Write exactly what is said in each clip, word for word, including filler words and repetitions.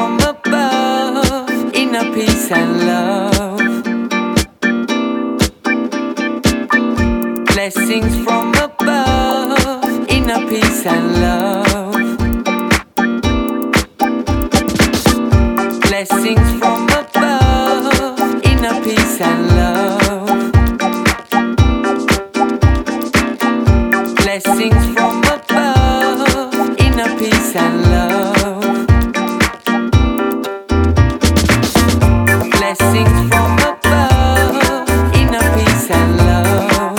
from above, inner peace and love. Blessings from above, inner peace and love. Blessings from above, inner peace and love. Blessings from above, inner peace and love. Blessings from above, inner peace and love.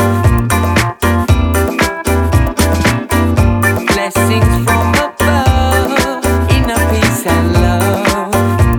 Blessings from above, inner peace and love.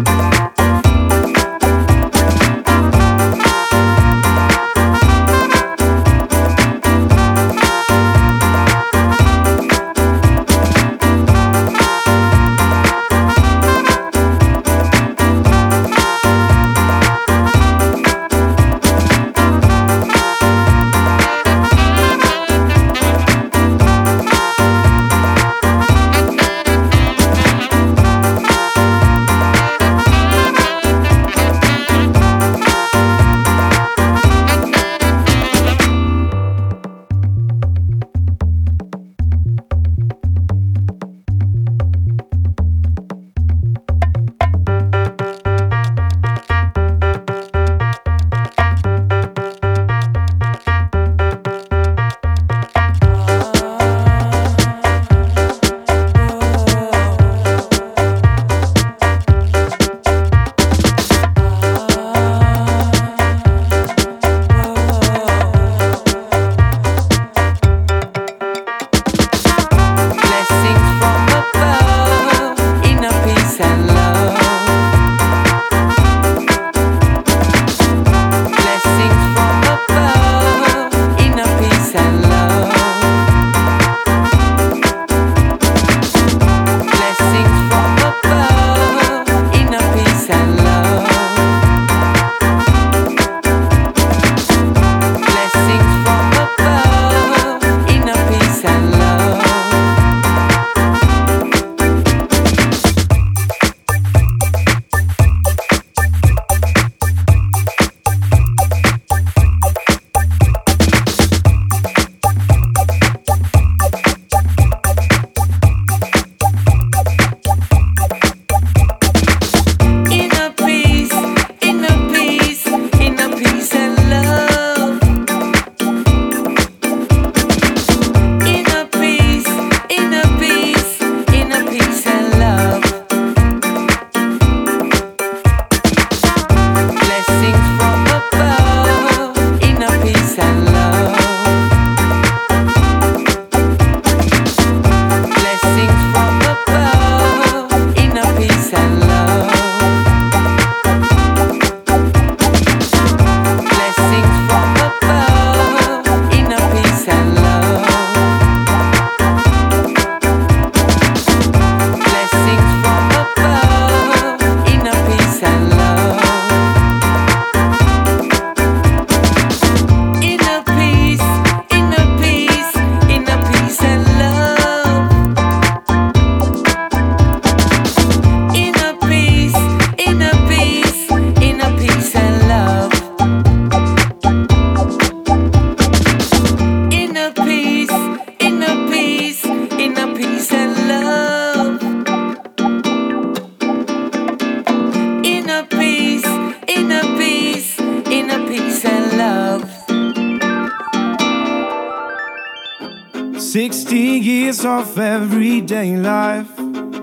Sixty years of everyday life,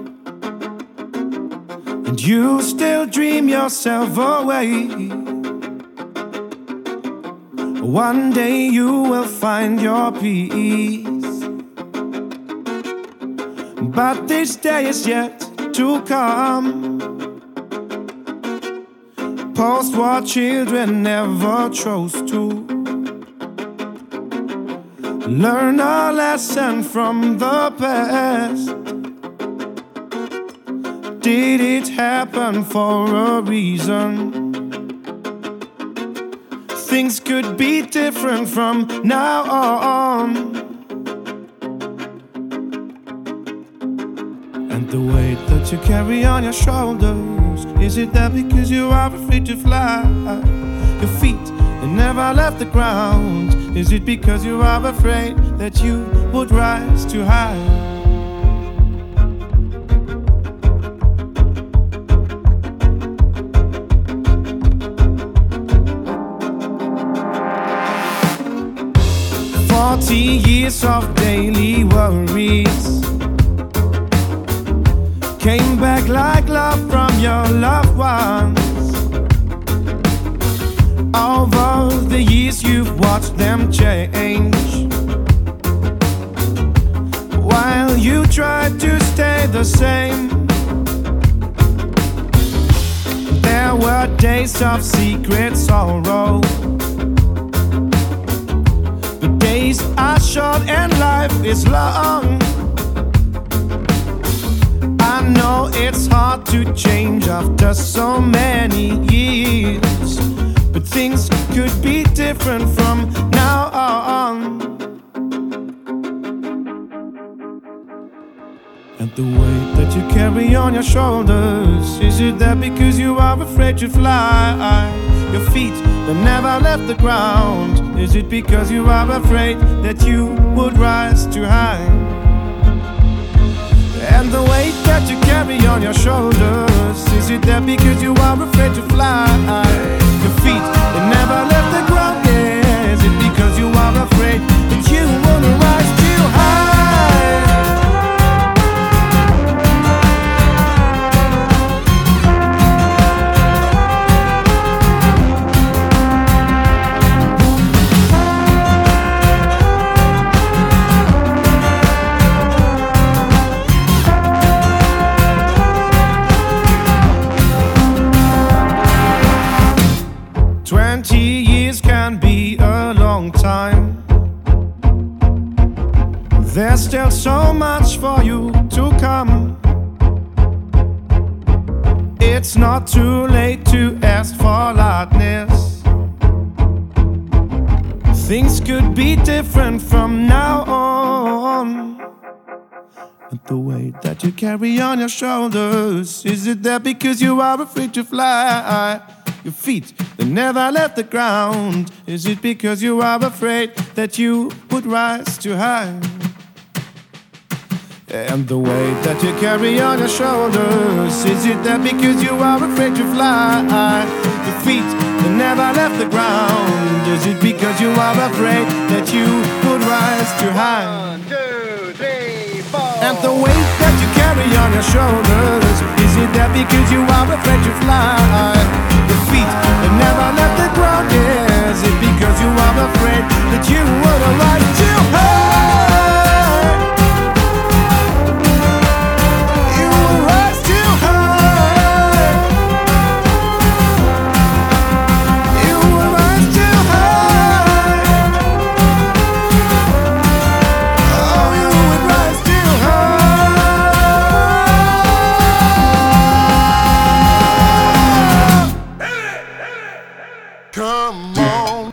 and you still dream yourself away. One day you will find your peace, but this day is yet to come. Post-war children never chose to learn a lesson from the past. Did it happen for a reason? Things could be different from now on. And And the weight that you carry on your shoulders, is it that because you are afraid to fly? Your feet, they never left the ground. Is it because you are afraid that you would rise too high? Forty years of daily worries came back like love from your loved ones. Over the years you've watched them change, while you tried to stay the same. There were days of secret sorrow, but days are short and life is long. I know it's hard to change after so many years, but things could be different from now on. And the weight that you carry on your shoulders, is it that because you are afraid to fly? Your feet that never left the ground, is it because you are afraid that you would rise too high? And the weight that you carry on your shoulders, is it that because you are afraid to fly? Your feet, they never left the ground, yeah. Is it because you are afraid that you wanna rise too high? Twenty years can be a long time. There's still so much for you to come. It's not too late to ask for lightness. Things could be different from now on. And the weight that you carry on your shoulders, is it that because you are afraid to fly? Your feet, they never left the ground, is it because you are afraid that you would rise too high? And the weight that you carry on your shoulders, is it that because you are afraid to fly? Your feet, they never left the ground, is it because you are afraid that you would rise too high? One, two, three, four. And the weight that you carry on your shoulders, is it that because you are afraid to fly? Your feet, they never left the ground, yeah. Is it because you are afraid that you would rise too high? You will rise too high. You will rise too high. Oh, you would rise too high. Come on.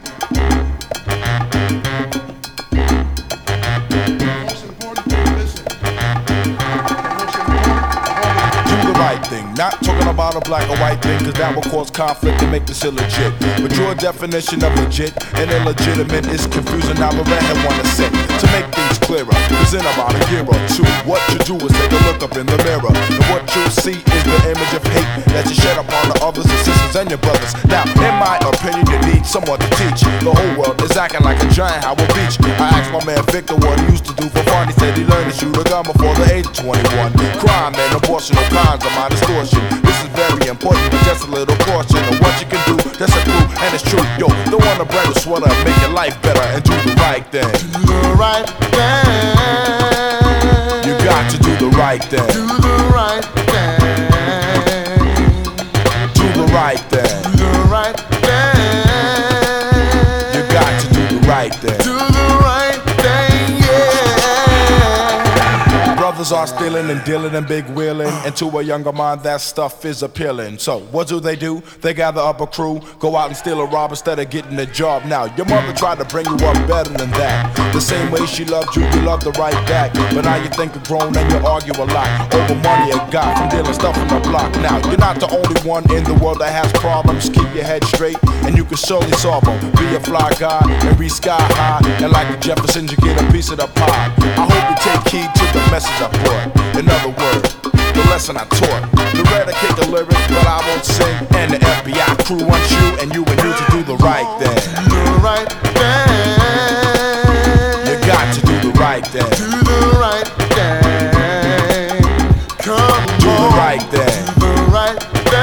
Most important thing, listen. Most important, do the right thing. Not talking about a black or white thing, cause that will cause conflict and make this illegit. But your definition of legit and illegitimate is confusing. Now the redhead wanna sit to make things clearer. Cause in about a year or two, what you do is take a look up in the mirror, and what you see is the image of hate that you shed upon the others and sisters and your brothers. Now, in my opinion, you need someone to teach. The whole world is acting like a giant Howard Beach. I asked my man Victor what he used to do for fun. He said he learned to shoot a gun before the age of twenty-one. Crime and abortion, all kinds of my distortion. This is very important, but just a little portion of what you can do. That's a clue, and it's true. Yo, don't want to brand a sweater, make your life better and do the right thing. Do the right thing. You got to do the right thing. Do the right thing. Do the right thing. Do the right thing. You got to do the right thing. Do the right thing, yeah. Brothers are start stealing and dealing and big wheeling. And to a younger mind, that stuff is appealing. So what do they do? They gather up a crew, go out and steal a rob instead of getting a job. Now, your mother tried to bring you up better than that. The same way she loved you, you loved her right back. But now you think you're grown and you argue a lot over money you got from dealing stuff from the block. Now, you're not the only one in the world that has problems. Keep your head straight and you can surely solve them. Be a fly guy and reach sky high. And like the Jeffersons, you get a piece of the pie. I hope you take heed to the message I brought. In other words, the lesson I taught. The eradicate the lyrics, but I won't sing. And the F B I crew wants you and you and you to do the right thing. Do the right thing. You got to do the right thing. Do the right thing. Come Do on. the right thing. Do the right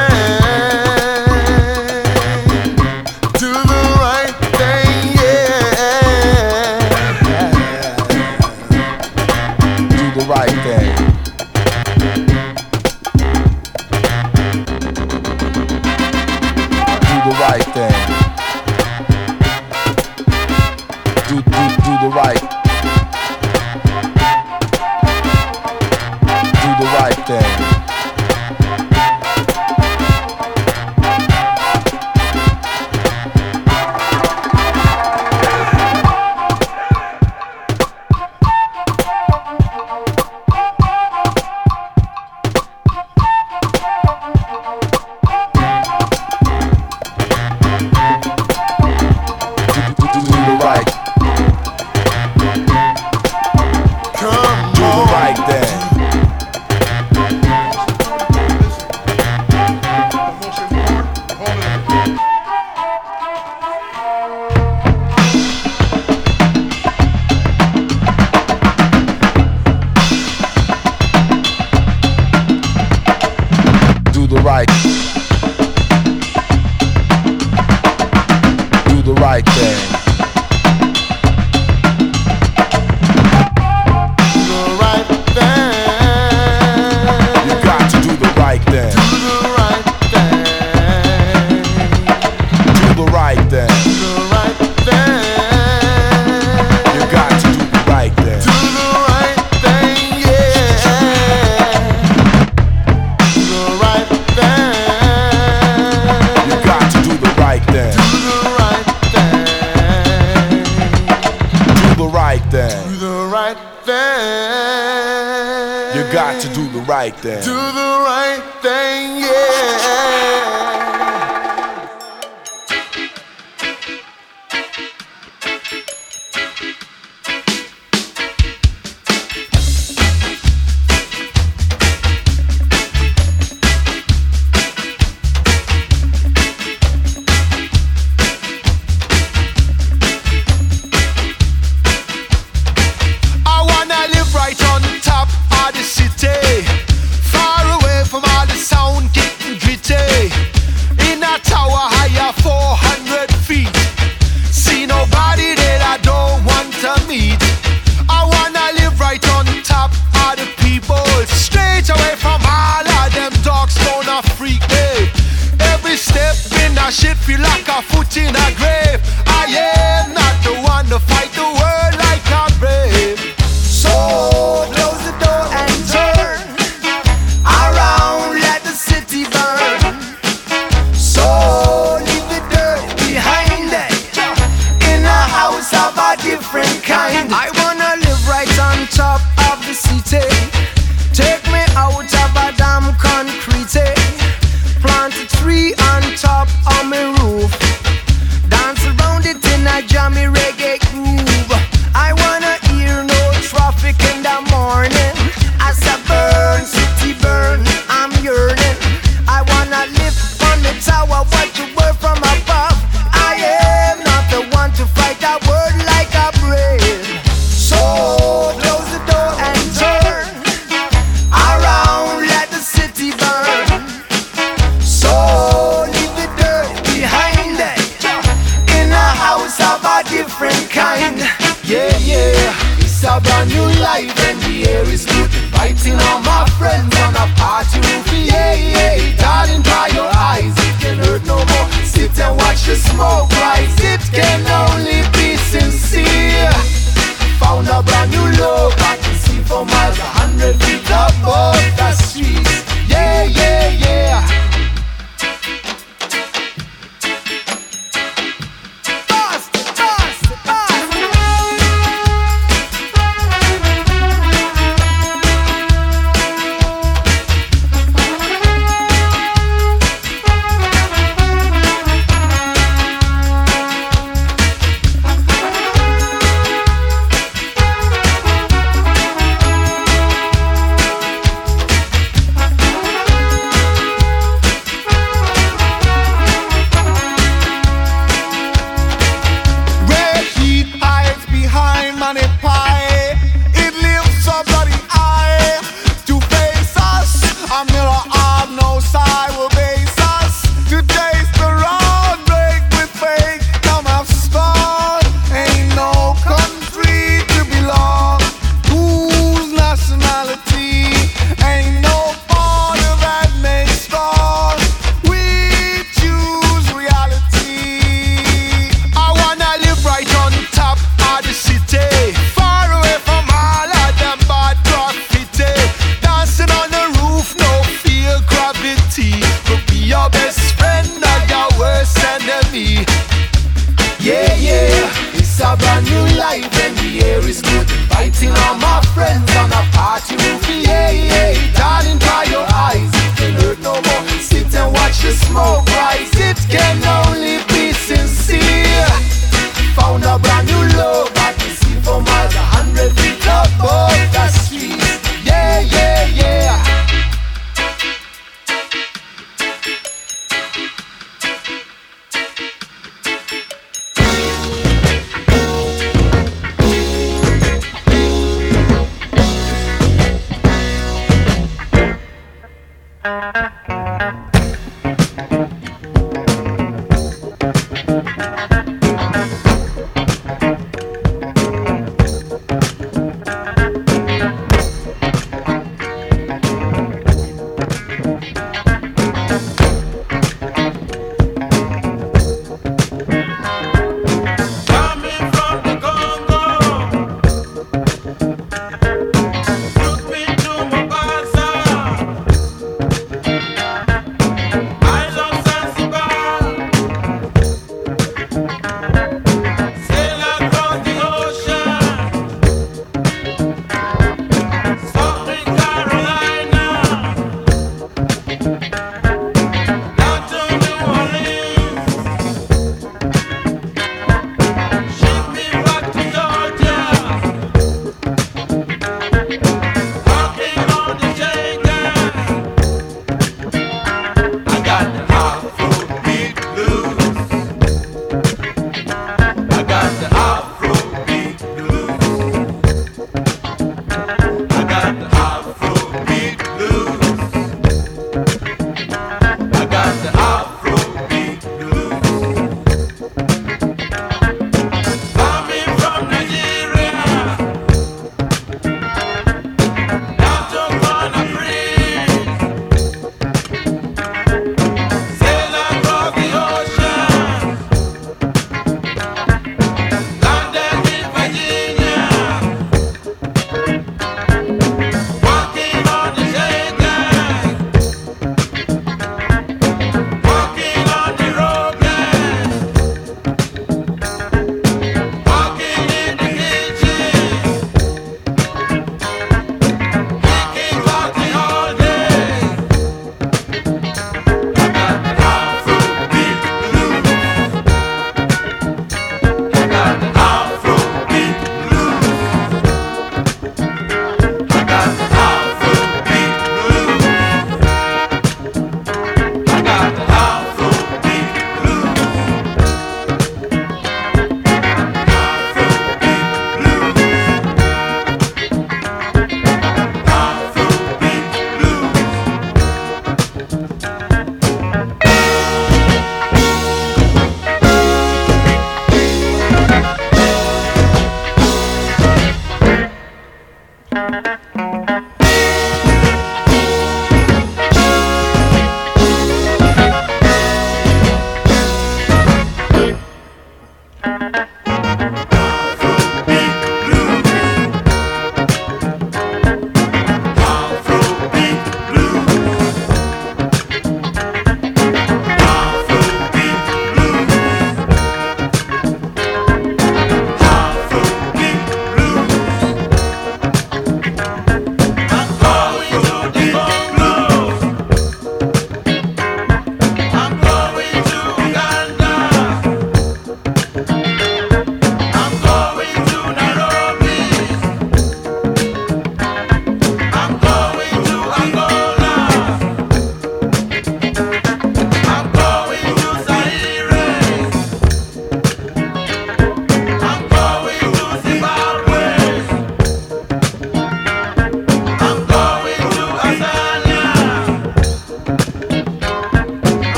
thing. Do the right thing, yeah. Do the right thing. Do the right thing. Do, do, do the right. Do the right thing. Thing. Do the right thing, yeah. I wanna live right on top of the city, far away from all the sound getting gritty. In a tower higher four hundred feet, see nobody that I don't want to meet. I wanna live right on top of the people, straight away from all of them dogs gonna freak me. Every step in that shit feel like a foot in a grave. I am not the one to fight the world like I'm brave. So close the door and turn around, let the city burn. So leave the dirt behind it, in a house of a different kind. I wanna live right on top of the city, take me out of a damn concrete. Plant a tree on top of my roof, dance around it in a jammy reggae groove. I wanna hear no traffic in the morning, as I burn, city burn, I'm yearning. I wanna live on the tower, watch the world from above. I am not the one to fight a word like a brave. So close the door and turn around, let the city burn. So leave the dirt behind it, in a house of a different kind. smoke rise, it can only be sincere. Found a brand new love I can see for miles a hundred feet above the streets. Yeah, yeah, yeah.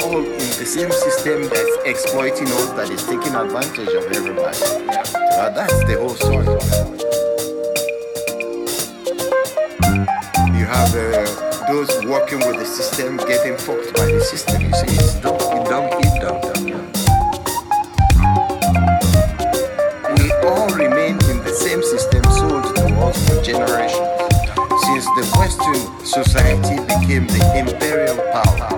all in the same system that's exploiting us, that is taking advantage of everybody. But that's the whole story. You have uh, those working with the system getting fucked by the system. You see, it's dumb, it's dumb, it's dumb, dumb, dumb. We all remain in the same system sold to us for generations, since the Western society became the imperial power.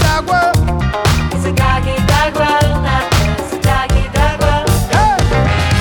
It's a doggy dog world out there. It's a doggy dog world. Hey!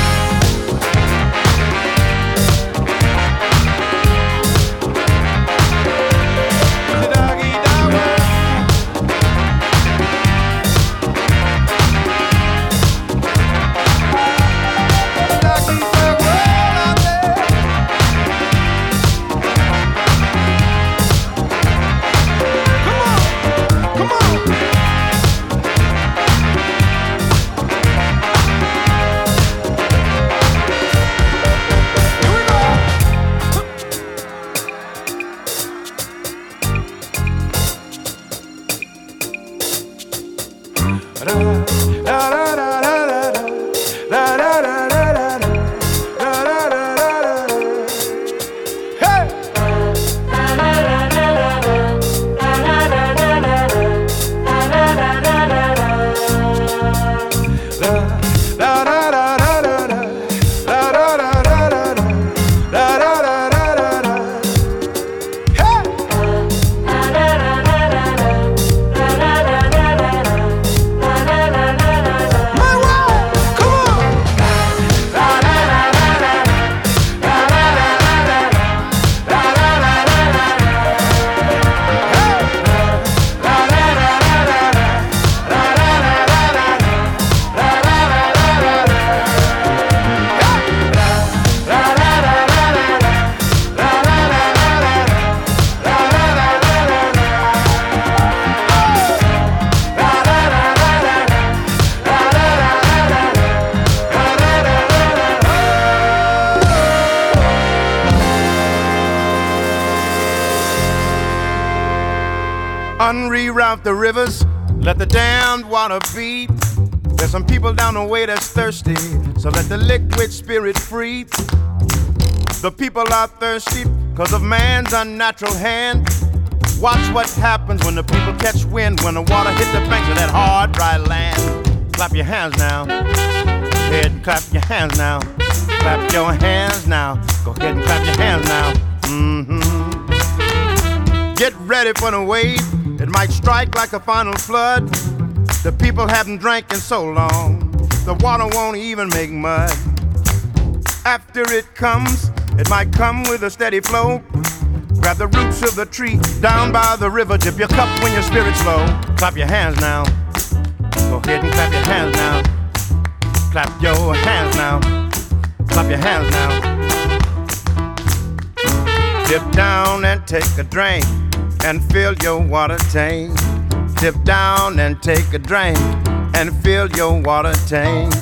Unreroute the rivers, let the damned water beat. There's some people down the way that's thirsty, so let the liquid spirit free. The people are thirsty because of man's unnatural hand. Watch what happens when the people catch wind, when the water hits the banks of that hard, dry land. Clap your hands now. Go ahead and clap your hands now. Clap your hands now. Go ahead and clap your hands now. Mm-hmm. Get ready for the wave. It might strike like a final flood. The people haven't drank in so long, the water won't even make mud. After it comes, it might come with a steady flow. Grab the roots of the tree down by the river. Dip your cup when your spirit's low. Clap your hands now. Go ahead and clap your hands now. Clap your hands now. Clap your hands now. Dip down and take a drink and fill your water tank. Dip down and take a drink and fill your water tank.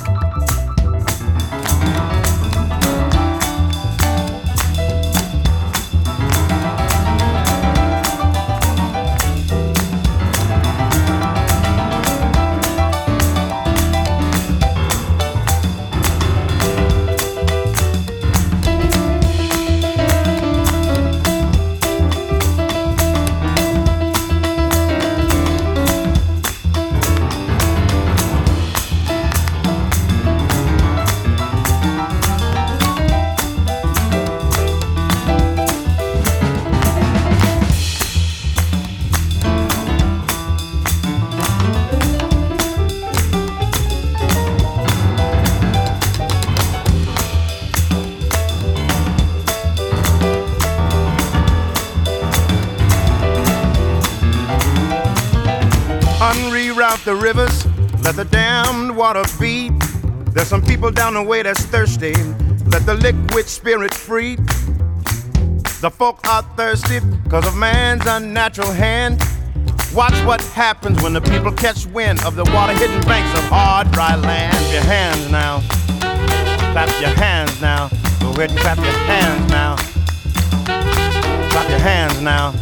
Unreroute the rivers, let the damned water beat. There's some people down the way that's thirsty, let the liquid spirit free. The folk are thirsty because of man's unnatural hand. Watch what happens when the people catch wind of the water-hidden banks of hard, dry land. Clap your hands now. Clap your hands now. Go ahead and clap your hands now. Clap your hands now.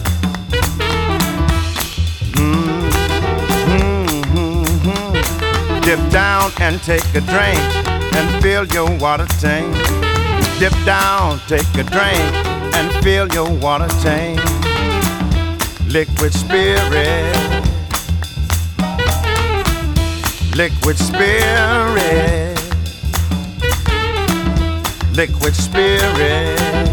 Mm. Dip down and take a drink and fill your water tank. Dip down, take a drink and fill your water tank. Liquid spirit, liquid spirit, liquid spirit,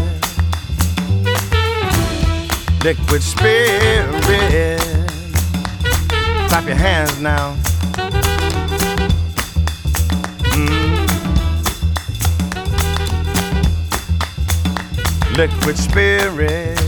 liquid spirit. Clap your hands now. Liquid spirit.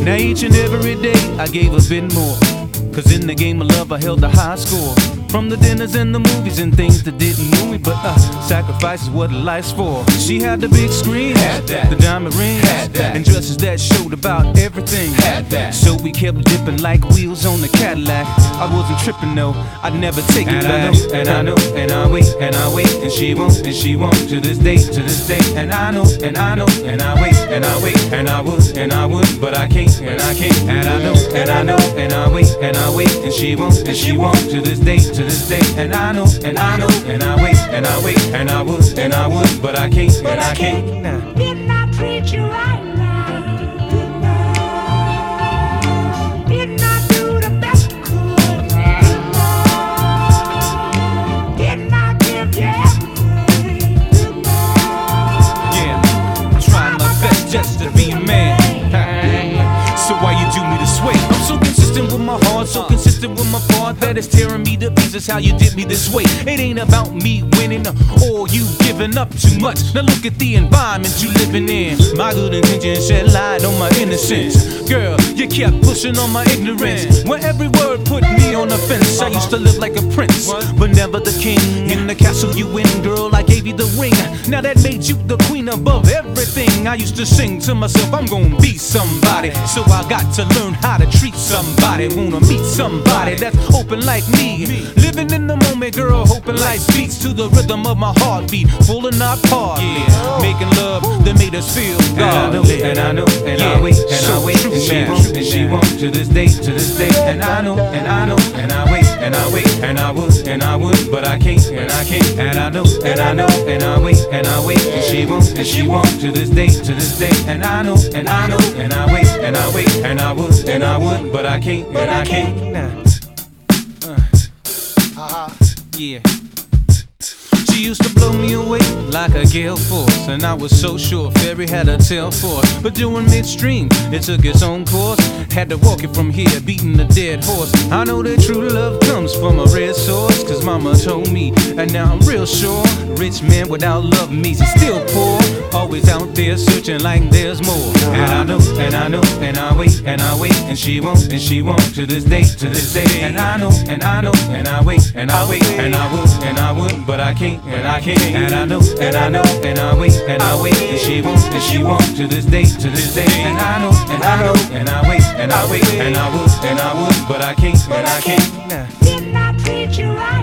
Now each and every day I gave a bit more, cause in the game of love I held a high score. From the dinners and the movies and things that didn't move me, but uh, sacrifice is what life's for. She had the big screen, had that. The diamond ring, had that. And dresses that showed about everything, had that. So we kept dipping like wheels on the Cadillac. I wasn't tripping though, I'd never take it back. And I know, and I wait, and I wait, and she won't, and she won't, to this day, to this day. And I know, and I know, and I wait, and I wait, and I would, and I would, but I can't, and I can't. And I know, and I know, and I wait, and I wait, and she won't, and she won't, to this day, to this day. And I know, and I know, and I wait, and I wait, and I would, and I would, but I can't, and I can't. Nah. Didn't I treat you right now? Didn't I? Didn't I do the best I could? Didn't I? Didn't I give you everything? Didn't I? Yeah, I'm trying my best just to be a man. So why you do me this way? I'm so consistent with my heart, so consistent with my part that it's tearing me to pieces how you did me this way. It ain't about me winning or you giving up too much. Now look at the environment you living in. My good intentions shed light on my innocence. Girl, you kept pushing on my ignorance, where every word put me on the fence. I used to live like a prince, but never the king. In the castle you win, girl, I gave you the ring. Now that made you the queen above everything. I used to sing to myself, I'm gonna be somebody. So I got to learn how to treat somebody. Wanna meet somebody that's open like me. Living in the moment, girl, hoping life beats to the rhythm of my heartbeat. Full and not part, yeah. Making love that made us feel godly. And I know, and I know, and I wait, and I wait, and she won't, and she won't, to this day, to this day. And I know, and I know, and I wait, and I wait, and I would, and I would, but I can't, and I can't. And I know, and I know, and I wait, and I wait, and she won't, and she won't, to this day, to this day. And I know, and I know, and I wait, and I wait, and I would, and I would, but I can't, and I can't. Nah. Uh. Uh-huh. Yeah. She used to blow me away like a gale force, and I was so sure Fairy had a tail for it. But during midstream, it took its own course. Had to walk it from here, beating a dead horse. I know that true love comes from a red source, cause mama told me, and now I'm real sure. Rich man without love means he's still poor. Always out there searching like there's more. And I know, and I know, and I wait, and I wait, and she won't, and she won't, to this day, to this day. And I know, and I know, and I wait, and I wait, and I would, and I would, but I can't, and I can't. And I know, and I know, and I wait, and I wait, and she won't, and she won't, to this day, to this day. And I know, and I know, and I wait, and I wait, and I would, and I would, but I can't, and I can't. Nah. Didn't I treat you right?